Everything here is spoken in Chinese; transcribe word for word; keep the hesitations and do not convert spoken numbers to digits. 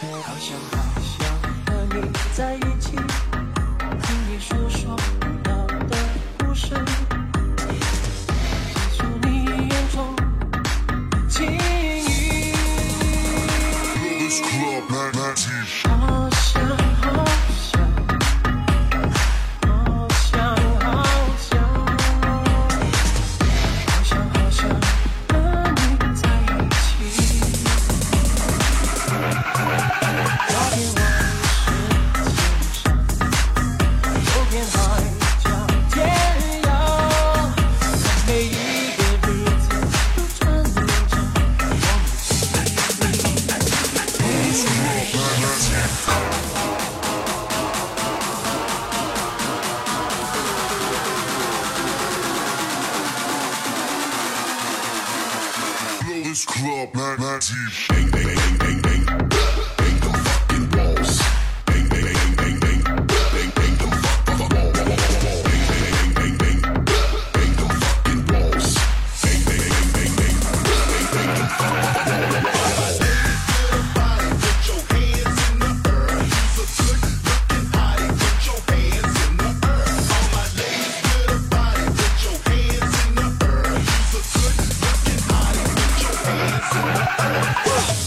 好想好想和你在一起，听你诉说我的故事，细数你眼中的情意。好想好想，好想好想，好想好想和你在一起。那天我是千山，有片海角天涯，每一个日子都串联着我们心里。 This club, night, night, bang, bang, bang, bang, bang, bang them fucking walls, bang, bang, bang, bang, bang, bang, bang them fucking walls, bang, bang, bang, bang, bang, bang them fucking walls, bang, bang, bang, bang, bang, bang, bang them fucking walls. Everybody put your hands in the air. You's a good looking hottie. Put your hands in the air. All my ladies with a body. Put your hands in the air. You's a good looking hottie. Put your hands in the air.